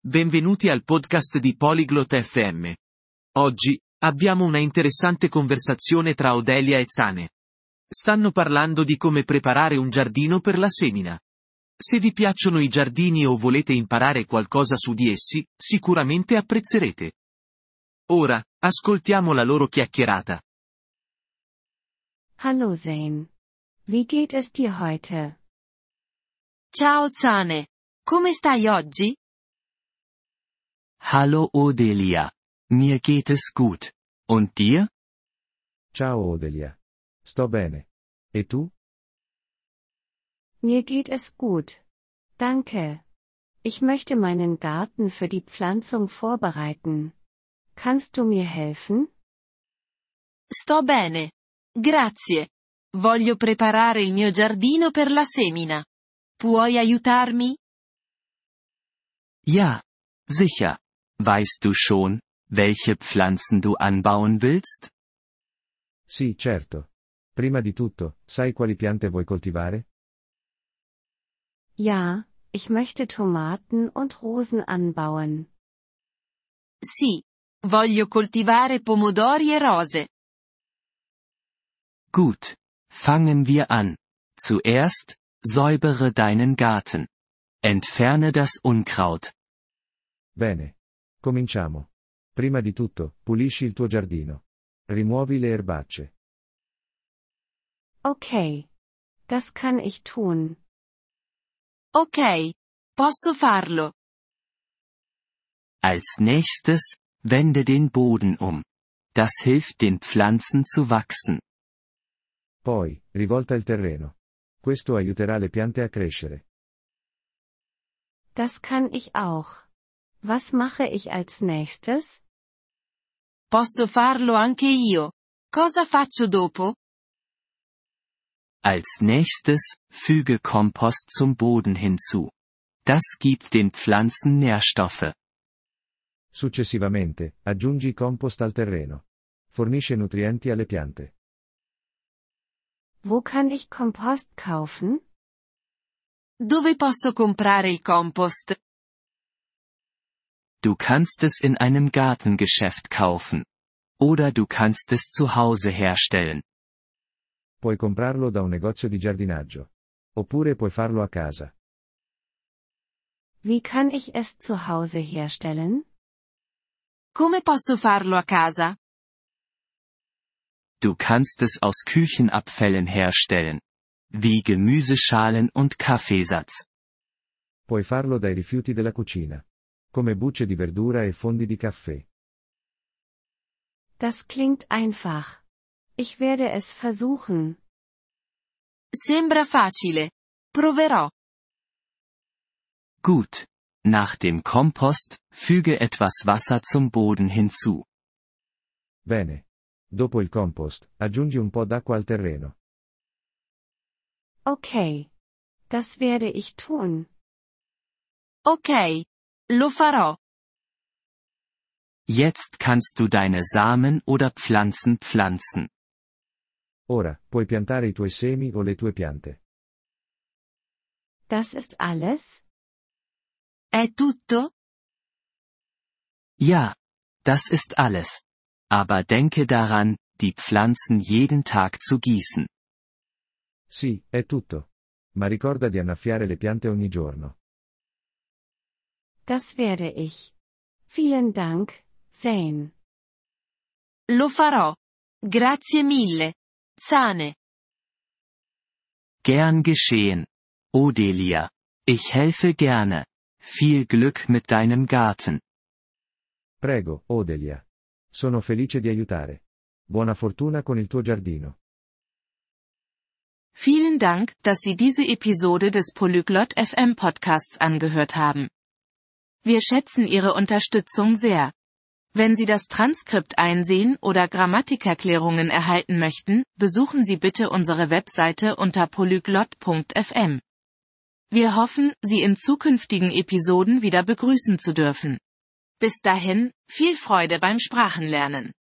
Benvenuti al podcast di Polyglot FM. Oggi, abbiamo una interessante conversazione tra Odelia e Zane. Stanno parlando di come preparare un giardino per la semina. Se vi piacciono i giardini o volete imparare qualcosa su di essi, sicuramente apprezzerete. Ora, ascoltiamo la loro chiacchierata. Hallo Zane. Wie geht es dir heute? Ciao Zane. Come stai oggi? Hallo Odelia. Mir geht es gut. Und dir? Ciao Odelia. Sto bene. E tu? Mir geht es gut. Danke. Ich möchte meinen Garten für die Pflanzung vorbereiten. Kannst du mir helfen? Sto bene. Grazie. Voglio preparare il mio giardino per la semina. Puoi aiutarmi? Ja, sicher. Weißt du schon, welche Pflanzen du anbauen willst? Sì, certo. Prima di tutto, sai quali piante vuoi coltivare? Ja, ich möchte Tomaten und Rosen anbauen. Sì. Voglio coltivare pomodori e rose. Gut. Fangen wir an. Zuerst, säubere deinen Garten. Entferne das Unkraut. Bene. Cominciamo. Prima di tutto, pulisci il tuo giardino. Rimuovi le erbacce. Okay. Das kann ich tun. Ok. Posso farlo. Als nächstes, wende den Boden um. Das hilft den Pflanzen zu wachsen. Poi, rivolta il terreno. Questo aiuterà le piante a crescere. Das kann ich auch. Was mache ich als nächstes? Posso farlo anche io. Cosa faccio dopo? Als nächstes, füge Kompost zum Boden hinzu. Das gibt den Pflanzen Nährstoffe. Successivamente, aggiungi compost al terreno. Fornisce nutrienti alle piante. Wo kann ich Kompost kaufen? Dove posso comprare il compost? Du kannst es in einem Gartengeschäft kaufen. Oder du kannst es zu Hause herstellen. Puoi comprarlo da un negozio di giardinaggio. Oppure puoi farlo a casa. Wie kann ich es zu Hause herstellen? Come posso farlo a casa? Du kannst es aus Küchenabfällen herstellen. Wie Gemüseschalen und Kaffeesatz. Puoi farlo dai rifiuti della cucina. Come bucce di verdura e fondi di caffè. Das klingt einfach. Ich werde es versuchen. Sembra facile. Proverò. Gut. Nach dem Kompost, füge etwas Wasser zum Boden hinzu. Bene. Dopo il compost, aggiungi un po' d'acqua al terreno. Okay. Das werde ich tun. Ok. Lo farò. Jetzt kannst du deine Samen oder Pflanzen pflanzen. Ora, puoi piantare i tuoi semi o le tue piante. Das ist alles? È tutto? Ja. Das ist alles. Aber denke daran, die Pflanzen jeden Tag zu gießen. Sì, è tutto. Ma ricorda di annaffiare le piante ogni giorno. Das werde ich. Vielen Dank, Zane. Lo farò. Grazie mille. Zane. Gern geschehen. Odelia. Ich helfe gerne. Viel Glück mit deinem Garten. Prego, Odelia. Sono felice di aiutare. Buona fortuna con il tuo giardino. Vielen Dank, dass Sie diese Episode des Polyglot FM Podcasts angehört haben. Wir schätzen Ihre Unterstützung sehr. Wenn Sie das Transkript einsehen oder Grammatikerklärungen erhalten möchten, besuchen Sie bitte unsere Webseite unter polyglot.fm. Wir hoffen, Sie in zukünftigen Episoden wieder begrüßen zu dürfen. Bis dahin, viel Freude beim Sprachenlernen.